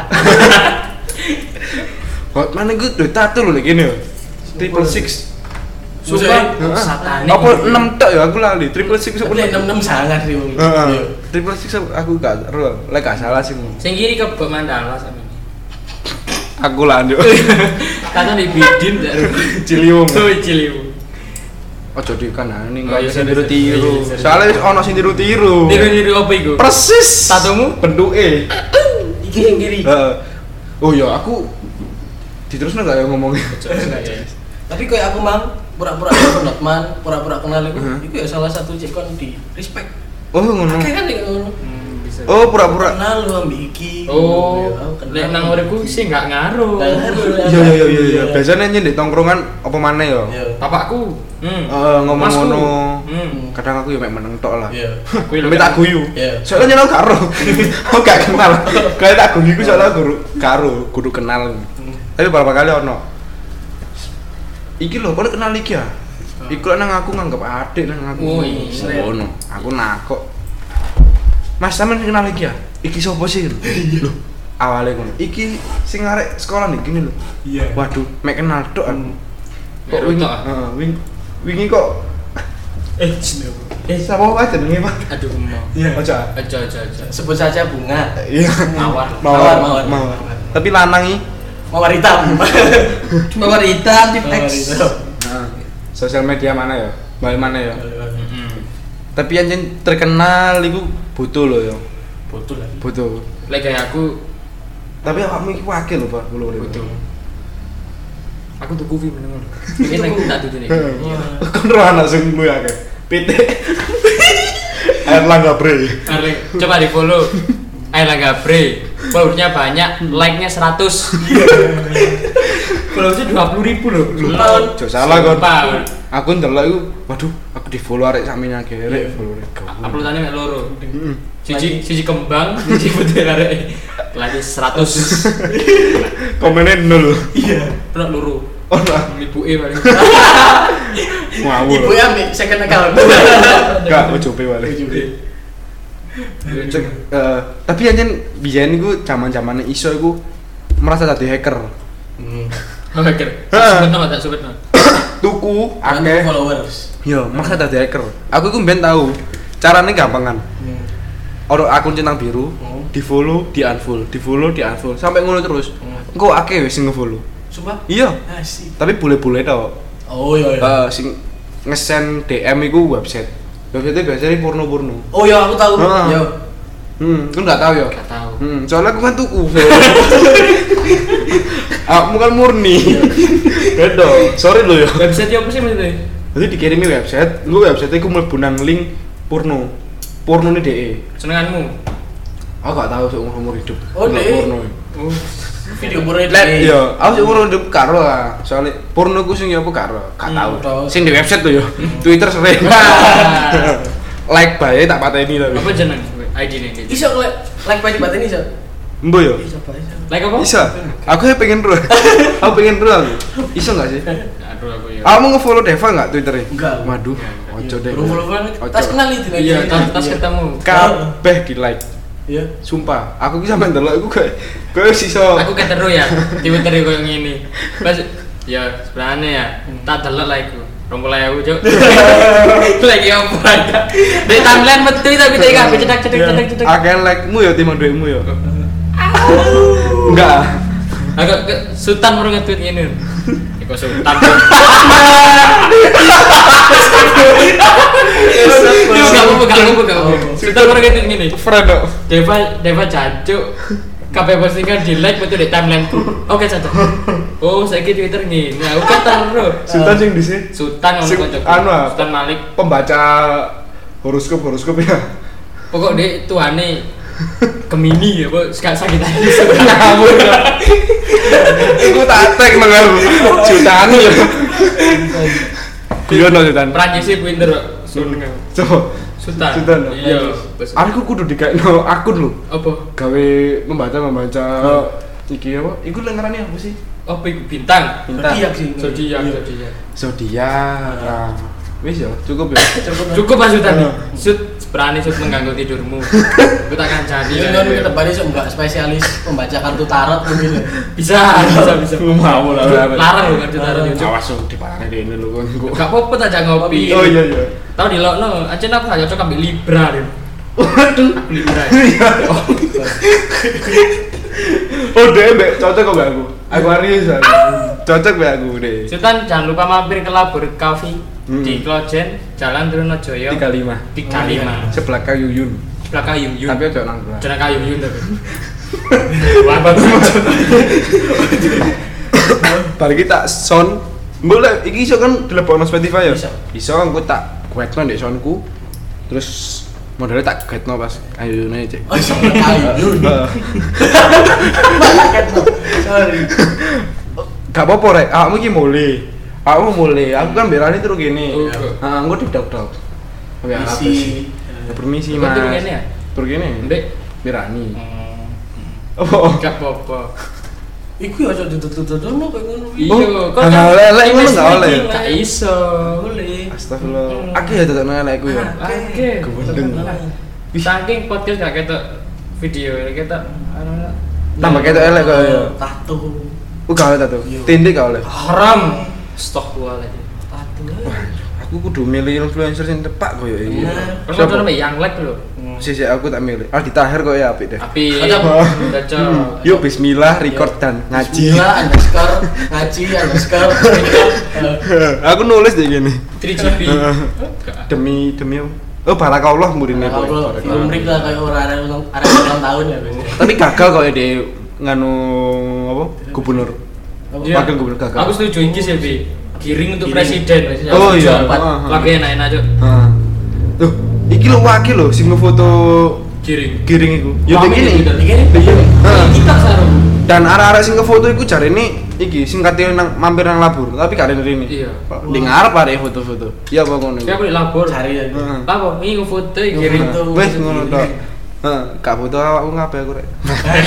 Hotman itu udah tato lho lagi nih. Triple six. Sumpah, Heeh. satanik. Apa enam tok ya aku lali. Triple six apa Tapi enam enam sangat sih, Bung. Heeh. Iya. Triple six aku gak ero. Lek gak salah sih. Mu. sing kiri ke Bok Mandala sama ini. Aku lanjut. Kata di Bidin dak. Ciliwung. Oh, Ciliwung. Ojo dikanani Oh, enggak iya, sing sorry, tiru-tiru. sorry. Iya, sorry. Soalnya wis ono sing tiru-tiru. Niru-niru apa iku? Persis. Tatumu? Bentuke. Iki yang kiri. Heeh. Oh iya, aku diterusno gak ya ngomongnya? Tapi kayak aku mang pura-pura kenal Batman, pura-pura kenal itu, Heeh. itu ya salah satu cikon di respect. Oh ngono. Kayak kan kayak ngono. Hmm, bisa. Oh pura-pura. Kenal lu ambil iki. Oh, Ya, aku kenal. lek nang uripku sih enggak ngaruh. Nggak ngaruh. Iya iya iya iya. Biasanya nyendek tongkrongan apa maneh ya? Iya. Bapakku. Hmm. Eh, ngomong Masku. ngono. Hmm. Kadang aku ya mek meneng tok lah. Iya. Aku Tapi tak guyu. Iya. Soalnya nyenal karo. Aku gak kenal. Kayak tak guyu iku soalnya guru karo, kudu kenal. Tapi beberapa kali ono. Iki lho, kono kenal iki ya? Iku nang aku nganggep adik nang aku. Oh, iya. Ngono. Aku nakok. Mas sampean kenal iki ya? Iki sapa sih? Loh, awale ngono. Iki sing arek sekolah nih gini lho. Iya. Waduh, mek kenal tok aku. Kok Mek wingi, tok, ah? heeh, wingi wingi kok Eh, eh sapa wae jenenge, Pak? Aduh, mau. Iya. Ojo. Aja aja aja. Sebut saja bunga. Iya. Mawar. Mawar, Mawar, mawar. mawar. Tapi lanang iki Mawar hitam. Mawar hitam di Mawar teks. hitam. Nah, sosial media mana ya? Balik mana ya? Heeh. Tapi yang terkenal itu butuh loh ya. Betul lagi. Butuh. Lek kayak aku Tapi awakmu iki wakil lho, Pak. Kulo butuh. Aku tuh kuwi meneng. Ini nang tak tutu nih. Kon ora anak sing kuwi akeh. P T. Erlangga Bre. Arling, coba di follow. Erlangga Bre. Followernya banyak, like-nya seratus. Followersnya dua puluh ribu loh. Lupa. Jo salah kon. Lupa. Aku ndelok iku, waduh, aku di-follow arek sakmene akeh rek follower. Uploadannya mek loro. Heeh. Siji siji kembang, siji putih arek. Lagi seratus. Komennya nol. Iya. Pernah loro. Oh, nah. Ibuke paling. Ngawur. Ibu ya ambil second account. Enggak, ojope wae. Cek, eh, tapi anjen biyen iku zaman-zamane iso iku merasa dadi hacker. Hmm. Hacker. Heeh. Sebetno tak sebetno. Tuku Akeh akeh. followers. Yo, merasa dadi hacker. Aku iku mben tahu. Carane gampangan. Hmm. Ono akun centang biru, Hmm. di-follow, di-unfollow, di-follow, di-unfollow, sampai ngono terus. Hmm. Engko akeh wis sing nge-follow. Sumpah? Iya, Asik. tapi bule-bule tok. Oh iya iya. Eh sing nge-send D M iku website. Website biasanya porno-porno. Oh iya aku tahu. Heeh. Yo. Hmm, kan enggak tahu ya? Gak tahu. Hmm, soalnya aku kan tuku. Aku kan murni. Beda. Sorry lo ya. Website apa sih maksudnya? Jadi dikirimi website, lu website iku mlebu nang link porno. Porno ne D E. Senenganmu. Aku gak tahu sih umur-umur hidup. Oh, Nggak D E. porno. Oh. Video porno itu. Let iya, aku sih umur hidup karo lah. Soalnya porno ku sing ya apa karo? Gak Hmm, tahu. tahu. Sing di website tuh yo. Twitter sering. Like bae tak pateni tapi. Apa jeneng I D nih? Iso like like pagi batin iso. Embo yo. Iso Pak iso. Like apa? Bisa. Aku ya pengen ru. Aku pengen ru aku. Iso gak sih? Gak Aduh aku ya. Kamu nge-follow Deva enggak Twitternya? Enggak. Waduh, Enggak, ojo deh. Follow-followan Ojo. tas kenal itu. Iya, tas tas ketemu. Kabeh di-like. Iya. Sumpah, aku ki sampe ndelok iku kayak kayak sisa. Aku keteru ya, Twitter koyo ngene. Pas ya sebenarnya ya, tak delok lah iku. dua puluh ribu cuk. Lagi opo ada. Di timeline metu tapi tak kabeh cedak-cedak cedak-cedak. Akeh like-mu ya timbang duitmu ya. Enggak. Agak ke Sultan baru nge-tweet ngene. Iku Sultan. Iku gak apa-apa, gak apa-apa, gak apa-apa. Sultan baru nge-tweet ngene. Friend kok. Deva Deva jancuk. Kabeh postingan di like betul di timeline ku. Oke saja. Oh, saiki Twitter ngene. Aku keteru. Sultan sing dhisik. Sultan Sing- ngomong kocok. anu ah, Sultan Malik. Pembaca horoskop horoskop ya. Pokok dia tuane Gemini ya, Bu. Sagitarius. Ngawur. Iku tak tag nang aku. Jutaan ya. Iya no Sultan. Prancis sih pinter kok. Sultan. Coba. Sultan. Sultan. Iya. Aku kudu dikekno akun lho. Apa? Gawe membaca membaca iki apa? Iku lek ngarani apa sih? Apa iku bintang? Zodiak sih. Zodiak, Iya. zodiak. Zodiak. Nah, wis ya, cukup ya. Cukup Mas Sultan. Iya. Sud berani sud mengganggu tidurmu. Aku tak akan jadi. Iya kan ke depannya sok enggak spesialis pembaca kartu tarot mungkin. Bisa, bisa, bisa. Mau lah. Larang loh kartu tarot itu. Awas dong diparani dene lho kon. Gak apa-apa tak ajak ngopi. Oh iya iya. Tahu di lokno, aja aku gak cocok ambil Libra deh. Waduh. Aku Libra. Oh deh, mbak cocok kok mbak aku. Aquarius aku. Cocok mbak aku deh. Sultan jangan lupa mampir ke Labor Coffee Hmm. di Klojen, Jalan Trunojoyo tiga puluh lima. tiga puluh lima. Sebelah kayu Yun. Belakang Yung Yung. Tapi aja nang belah. Jangan kayu Yung tapi. Wabah tuh. Balik kita sound. Boleh, iki iso kan dilebokno Spotify ya? Iso. Iso aku tak guetno ndek soundku. Terus modelnya tak guetno pas ayune cek. Oh, sok kayu. Heeh. Sorry. Gak apa-apa rek, awakmu iki mulai. Awakmu mulai, aku kan berani terus gini. Oh, Heeh, engko didok-dok. Ya apa Misi. sih? Ya, permisi Kok Mas. turun gini ya? Turun gini. Ndek. Berani. Oh, Oh. gak apa-apa. Iku ya aja ditutup-tutupno koyo ngono kuwi. Oh, Iya, kok hal-hal lelek ngono gak oleh. Gak iso. Boleh. Astagfirullah. Hmm. Akeh ya tetep lelekku ya. Oke. Kewendeng. Saking podcast gak ketok video, ketok anu Tambah ketok elek kok ya. Tato. Oh, gak oleh tato. Iya. Tindik gak oleh. haram. Astagfirullahaladzim. Tato. Aku kudu milih influencer sing tepak koyo iki. Bener. Kalau ada namanya yang like lho. Sisi aku tak milih. Aldi Tahir kok ya apik deh. Tapi Cocok. cocok. Yuk bismillah record dan ngaji. Bismillah underscore ngaji underscore record. Aku nulis deh gini. tiga G B. Demi demi apa? Oh barakallah murine Kalau kowe. film Rick lah kayak orang ada ulang ada ulang tahun ya biasanya. Tapi gagal kok ya di nganu apa? Gubernur. Iya. Wakil gubernur gagal. Aku setuju iki sih, Bi. Giring untuk Giring. presiden. Oh, Aku iya. setuju. Heeh. Lagu enak-enak, Cuk. Heeh. Tuh, iki lho wakil lho sing ngefoto Giring. giring iku. Ya Rame begini. di Twitter. Begini. Heeh. Kita sarung. Dan arah-arah sing ngefoto iku jarene iki sing kate nang mampir nang labur, tapi gak ada rene. Iya. Di ngarep arek foto-foto. Iya apa ngono iku? Siapa di labor? Cari ya. Heeh. Apa? Ini foto Ngefoto. giring. Wes ngono tok. Heeh, gak foto awakmu ngapain aku rek.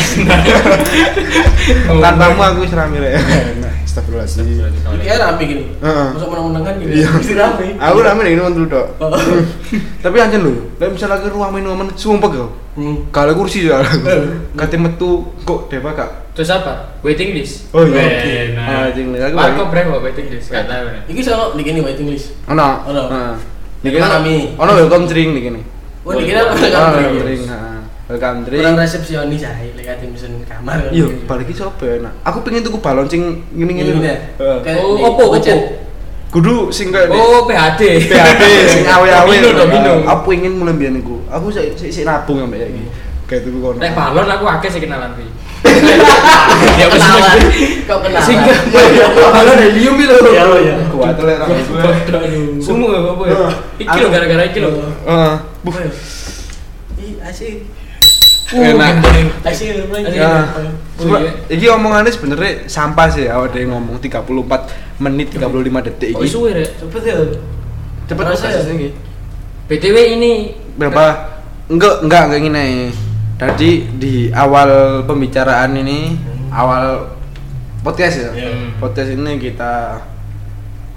Tanpamu aku wis rame rek. Astagfirullahaladzim. Ini kayak rame gini. Heeh. Masuk menang-menangan gitu. Iya. Mesti rame. Aku rame nek ngono tok. Oh. Tapi anjen lho, lek misal lagi ruang minum menit sumpek yo. Hmm. Kalau kursi ya. Eh. Kate metu kok dewa gak. Terus apa? Waiting list. Oh iya. Weh, Ah, Nah. jing aku. Marco berapa waiting list? Gak tahu nih. Iki sono di gini waiting list. Ono. Ono. Heeh. Di mana, Mi? Ono welcome drink nih gini. Oh, di kira apa Ono kan? welcome drink, heeh. Welcome drink. Kurang resepsionis aja, lek ati mesen kamar. Iya, balik iki sapa ya, Nak? Aku pengen tuku balon sing ngene-ngene. Ngene ya? Heeh. Kayak Oh, di opo, budget. opo? Kudu sing kayak Oh, P H D. P H D sing awe-awe. Domino, domino. Aku ingin mulai mbiyen iku. Aku sik sik sik nabung sampe iki. Kayak tuku kono. Nek balon aku akeh sih kenalan Pi. Ya kenalan. Kok kenalan? Sing balon helium itu. Iya, iya. Kuat lek ra. Sumu apa ya? Iki lho gara-gara iki lho. Heeh. Buh. Ih, asik. Enak. Asik lagi. Ya. Oh, Cuma iya. iki omongannya sebenarnya sampah sih awak dhewe ngomong tiga puluh empat menit tiga puluh lima detik Oh, iki. suwe rek. Cepet ya. Cepet Terasa ya? prosesnya iki. B T W ini Berapa? Enggak, enggak kayak gini. Tadi di awal pembicaraan ini, awal podcast ya. Iya. Podcast ini kita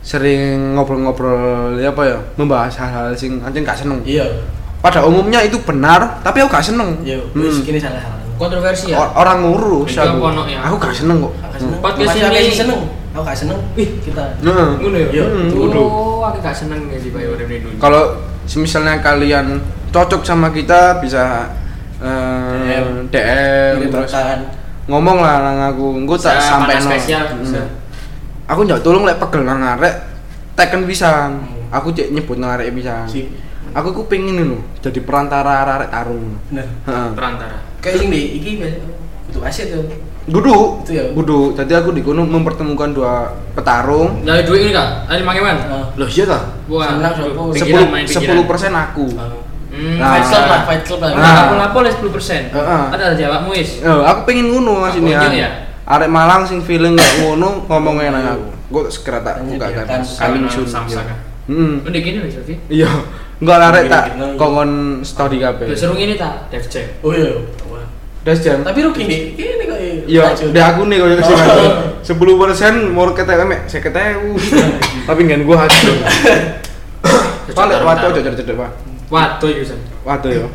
sering ngobrol-ngobrol ya apa ya, membahas hal-hal sing anjing gak seneng. Iya. Pada umumnya itu benar, tapi aku gak seneng. Iya, Hmm. wis kene salah. Kontroversi ya. O- orang ngurus Itu aku. apa, no, ya? Aku gak seneng kok. Aku seneng. Podcast Mas ini- Yaki seneng. Aku gak seneng. Wih, kita. Heeh. Ngono ya. Iya, Hmm, itu kudu. Oh, aku gak seneng ya di Bayu Urip dulu. Kalau misalnya kalian cocok sama kita bisa eh, D M, Kirim terus rekan. ngomong lah nang aku, engko tak Bisa sampai panas spesial, bisa. Aku njak tolong lek pegel nang arek teken pisan. Hmm. Aku cek nyebut nang arek pisan. Sip. Aku ku pengen lho jadi perantara arek tarung. Bener. Heeh. Perantara. Kayak sing di iki butuh aset tuh. Gudu, Itu ya? gudu. Jadi aku di kono mempertemukan dua petarung. Dari duit ini kak, ada lima kewan. Heeh. Loh iya ta? Wah, Senang, sopo. pikiran main pikiran. sepuluh persen aku. Hmm, Nah. Fight club lah, fight club lah. Nah. Aku lapor les sepuluh persen. Heeh. Ada jawabmu is. Eh, aku pengen ngono Mas ini Aku ya? Arek Malang sing feeling kayak ngono ngomongnya nang aku. Gue segera tak buka kan. Menyediakan Coming sarana soon. samsa, iya. kan? Heeh. Udah gini loh Sofi. Iya. Enggak arek tak Gini-gini. kongon story kabeh. Udah seru ini tak, Dev Jam. Oh iya. Wah. Das jam. Tapi rugi nih. Ini kok Iya, racun. di aku nih koyo sing Oh. sepuluh persen mau ketek mek saya ketek. Tapi ngan gua hasil. Balik wato cedek-cedek, Pak. Waduh Yusan. Wato yo.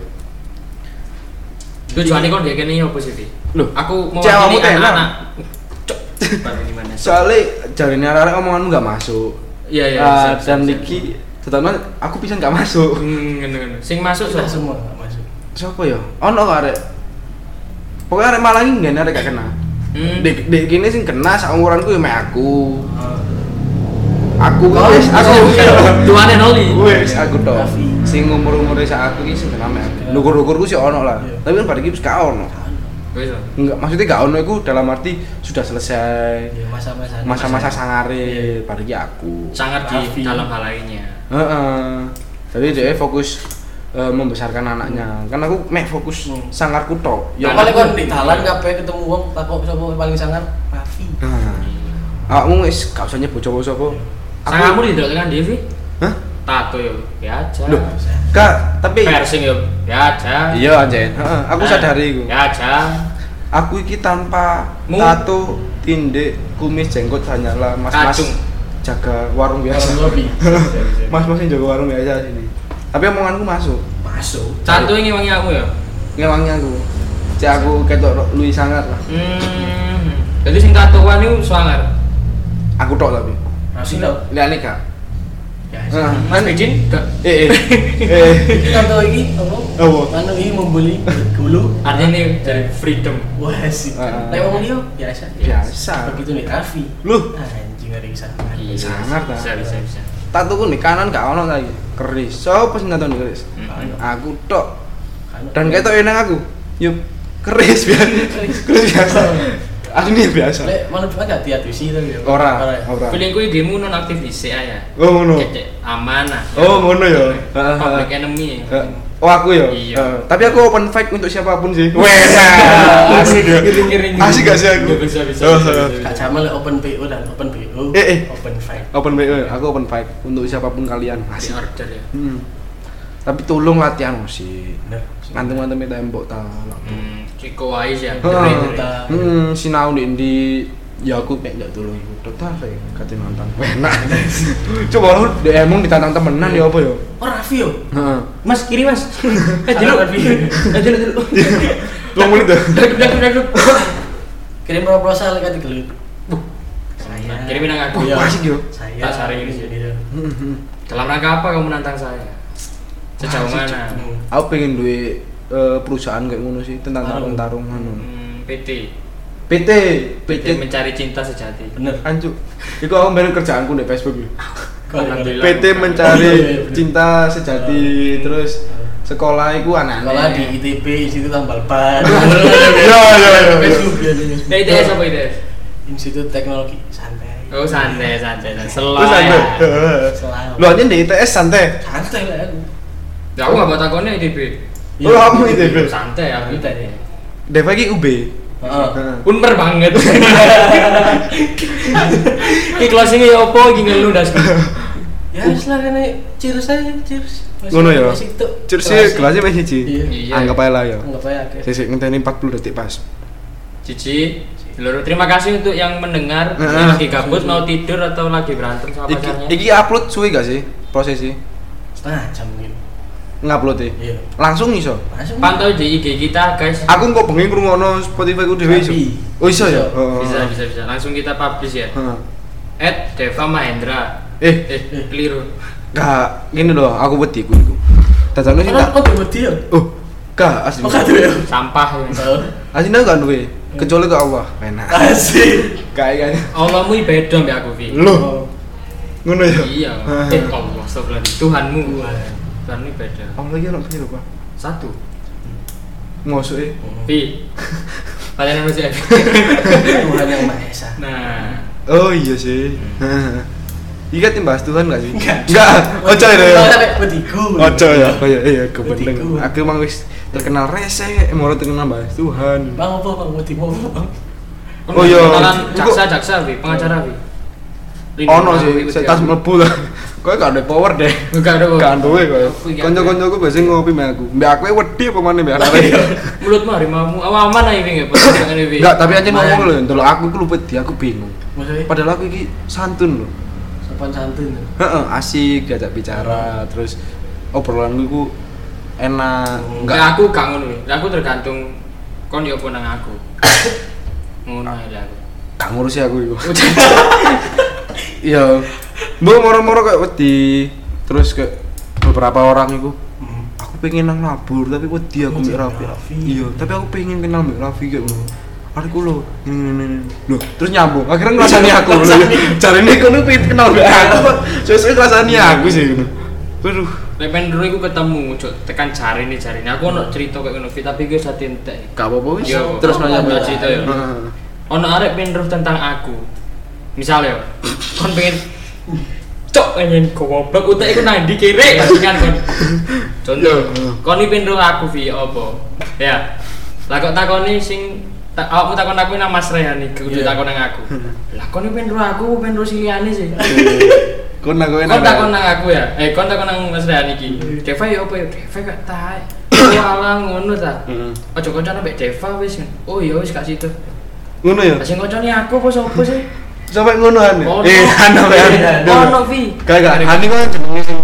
Tujuannya kok dia kene apa sih? Vi? Loh, Aku mau cewekmu ini enak. anak-anak. Cok. Baru gimana? Soalnya jarine arek omonganmu enggak masuk. Iya iya. Ah, siap, siap, dan siap. niki terutama aku bisa enggak masuk. Hmm, ngono-ngono. Sing masuk Sudah so. semua nggak masuk. Siapa ya? Ono kok arek. Pokoknya arek Malang iki ngene arek gak kena. Hmm. Dek dek kene sing kena saumuranku ya mek aku. Ah. Aku Oh, wis aku Tuane noli. wis aku tok. Raffi. Sing umur-umure sak aku iki sing kena mek aku. Lugur-lugurku sih ono lah. Iya. Tapi kan pada iki wis gak ono. Wis. Enggak, maksudnya gak ono iku dalam arti sudah selesai. Ya, masa-masa Masa-masa sangare pada iki aku. Sangat di Raffi. dalam hal lainnya. Heeh. Jadi dia fokus eh, membesarkan anaknya. Kan aku mek fokus Hmm. sangarku tok. Ya Karena paling kan aku- di dalan kabeh ketemu wong takok sapa paling sangar Raffi. Nah, awakmu wis gak usah nyebut sapa-sapa. Sangamu di dalam Devi? Hah? Tato yo, ya aja. Loh, Kak, tapi Piercing yo, ya aja. iya anjen. Heeh, aku Nah, sadari iku. Ya aja. Aku iki tanpa Mu- tato, tindik, kumis, jenggot hanyalah mas-mas Kacung. jaga warung biasa. Orang lebih. Mas-mas yang jaga warung biasa sini. Tapi omonganku masuk. Masuk. Tato ini wangi aku ya. Ngewangnya aku. Cek aku ketok luwih sangat lah. Hmm. Jadi sing tatoan itu swanger. Aku tok tapi. Raffi tau. Liane gak. Ya. Nah, Mas Bejin gak. Eh eh. Eh. Iki tato iki apa? Apa? Anu iki membeli gulu. Artinya ini dari freedom. Wah sih. Ah. Lek wong liya biasa. Biasa. Begitu nih Raffi. Loh, Anjing ada bisa. Iya. Sangat, Bisa ah. bisa bisa. tatuku nih kanan gak ono lagi. Keris. Sopo sing tato keris? Hmm. Aku tok. Dan ketok enak aku. Yuk, keris biasa. Keris biasa. Aslinya biasa. Lek malah cuma gak diadusi to ya. Ora, ya? ora. Feelingku game non aktif di C A ya. Oh ngono. Cek aman lah. Oh, ngono ya? Public enemy. Eh, Oh aku ya. Iya. Eh, tapi aku open fight untuk siapapun sih. Wes. Asik ya. Kiring-kiring. Asik gak sih aku? Iya, bisa, bisa, Oh, bisa, oh. bisa. Gak sama lek open B O dan open B O. Eh, eh. Open fight. Open fight. Aku open fight untuk siapapun kalian. Di Asik. order ya. Hmm. Tapi tolong latihan sih. Bener. Ngantem-ngantem tembok ta. Hmm, Ciko Wais ya. Heeh. Cerita. Hmm, sinau di di ya aku mek ndak tolong iku. Total saya kate nantang. Enak. Coba lu D M ditantang temenan ya apa ya? Oh Raffi yo. Heeh. Mas kiri mas. Eh dulu. Eh dulu dulu. dua menit dah. Duduk duduk duduk. Kirim proposal lek kate gelut. Saya. Kirimin nang aku. Iya. Asik yo. Saya. Tak saring ini sih. Iya. Dalam rangka apa kamu menantang saya? Sejauh Asik, mana? Hmm. Aku pengen duwe eh, perusahaan kayak ngono sih tentang Tarung. tarung-tarung anu. Hmm, P T. P T, P P T T mencari cinta sejati. Bener. anjuk. Iku aku mbene kerjaanku di Facebook. iki. Alhamdulillah. P T mencari Oh, iya, iya, bener. cinta sejati terus sekolah iku anak-anak. Sekolah di I T B Institut Tambal Ban. Ya, ya, ya. Facebook biasanya. Nah, I T S apa I T S? Institut Teknologi santai. Oh santai santai santai. Slow Terus santai. ya. Selalu. Lu aja di I T S santai. Santai lah aku. Ya aku nggak buat akunnya I T B. Oh, kamu I T B. Santai aku. Kita deh. Deva iki U B. Heeh. Heeh. Unper banget. Ki closing ya opo iki ngelu das. Ya wis lah kene cheers aja, cheers. Masih- Ngono ya. masih tuk. Cheers sih gelasnya masih siji. Iya. Iya. Anggap aja lah ya. Enggak apa ya, guys. Sisik ngenteni empat puluh detik pas. Cici. Loro, terima kasih untuk yang mendengar Heeh. yang lagi gabut mau tidur atau lagi berantem sama Iki, pacarnya. iki upload suwe gak sih prosesnya? Setengah jam mungkin. Ngupload e. Iya. Langsung iso. Langsung. Pantau di I G kita guys. Aku kok bengi ngrungokno Spotify ku dhewe iso. Tapi. Oh iso ya? Iso. Heeh. Bisa bisa bisa. Langsung kita publish ya. Heeh. At Deva Mahendra. Eh, Eh, keliru. gak gini loh, aku wedi ku iku. Dadane sing tak Kok kok wedi ya? Oh, gak asli. Kok kado ya? Sampah ya. Oh. Asli gak duwe, kecuali ke Allah. Enak. Asik. Kayak Allahmu beda mbak aku Vi. Loh, ngono ya? Iya. Eh Allah, astagfirullah. Tuhanmu. Tuhanmu beda. Allah iki ono piro, Pak? Satu. Mosok e. Vi. Kalian masih ada. Tuhan yang Maha Esa. Nah, Oh iya sih. Iya kan bahas Tuhan gak sih? Enggak. Enggak. Ojo ya. Oh, sampai wediku. Ojo ya. Oh iya iya kebetulan. Wediku. Aku emang wis terkenal rese, mau terkenal bahas Tuhan. Bang apa bang wedi mau bang? Oh, iya. kenalan Iku- jaksa jaksa Vi, pengacara Vi. Ono sih, saya tas mlebu lah. Kowe gak ada power deh. Enggak ada. Gak duwe kowe. Aku iki Kanca-kancaku biasa ngopi mbak aku. Mbak aku wedi apa maneh mbak arek. mulutmu harimau aman aja Vi enggak pernah Vi. Enggak, tapi anjing Main. ngomong lho, ndelok aku iku lu wedi, aku bingung. Maksudnya Padahal aku iki santun lho. sopan santun. Heeh, asik diajak bicara, terus obrolanku iku enak. Enggak Enggak aku gak ngono. Vi. Aku tergantung kon yo apa nang aku. Ngono ae lah aku. gak ngurusi aku iku. Iya. Mbok moro-moro kayak wedi. Terus kayak beberapa orang iku aku pengen nang labur tapi wedi aku mbek Raffi. Raffi. Iya, tapi aku pengen kenal mbek Raffi kayak ngono. Arek ku lho, ini ini ini. Loh, terus nyambung. Akhirnya ngrasani aku lho. Jarine kono pengen kenal mbek aku kok. Sesuk ngrasani aku sih ngono. Waduh. Lek pendro iku ketemu, cuk, tekan jari nih jari. Aku ono cerita kayak ngono, Vi, tapi gue sate entek. Gak apa-apa wis. Iya, Terus apa? nanya Apa mbak cerita ya? Ono arek pendro tentang aku. Misalnya, kon pengen cok pengen goblok utek iku nang ndi kere kan kon. Contoh, kon iki pendro aku Vi apa? Ya. Lah kok takoni sing tak awakmu takon aku nang Mas Rehan iki, kudu Iya. takon nang aku. Lah kon iki pendro aku, pendro si liyane sih. Kon aku Kon takon nang aku ya. Eh kon takon nang Mas Rehan iki. Deva ya apa ya? Deva gak tae. Oh alah ngono ta. Heeh. Ojo koncone mbek Deva wis. Oh iya wis gak situ. Ngono ya. Lah sing koncone aku apa sapa sih? Sampai ngono an. Ono. Eh, anu ya. Ono Vi. Kayak Hani kan jenenge sing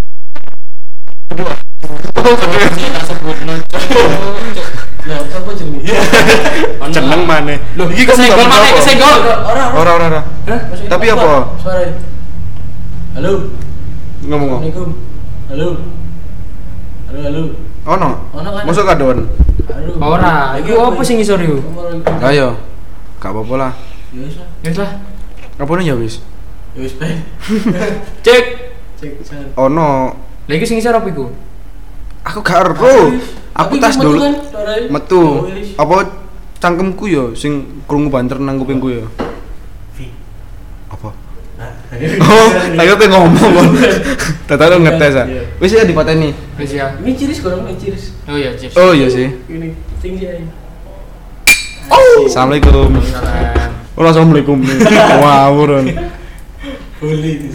Kita sebutno. Lah apa jenenge? jeneng maneh. Loh, iki kesenggol maneh kesenggol. Ora Ora ora ora. Hah? Maksudnya Tapi apa? Suara. Halo. Ngomong. Assalamualaikum. Halo. Halo halo. Ono. Ono kan? Mosok kadon. Halo. Ora, iku apa sing ngisor iku? Ayo. Gak apa-apa lah. Ya wis lah. Wis lah. Apa ya wis? Ya wis ben. Cek. Cek jangan. Ono. Lah iki sing ngisor apa iku? Aku gak ero. Aku tas dulu. kan, Metu. Apa cangkemku ya sing krungu banter nang kupingku ya. Apa? Oh, ayo pengen ngomong. Tata lu ngetes ah. Wis ya dipateni. Wis ya. Ini ciris kok, ini ciris. Oh iya, Chips. Oh iya sih. Ini tinggi aja. Assalamualaikum. Salam. Oh, assalamualaikum. Wah, buron. Boleh.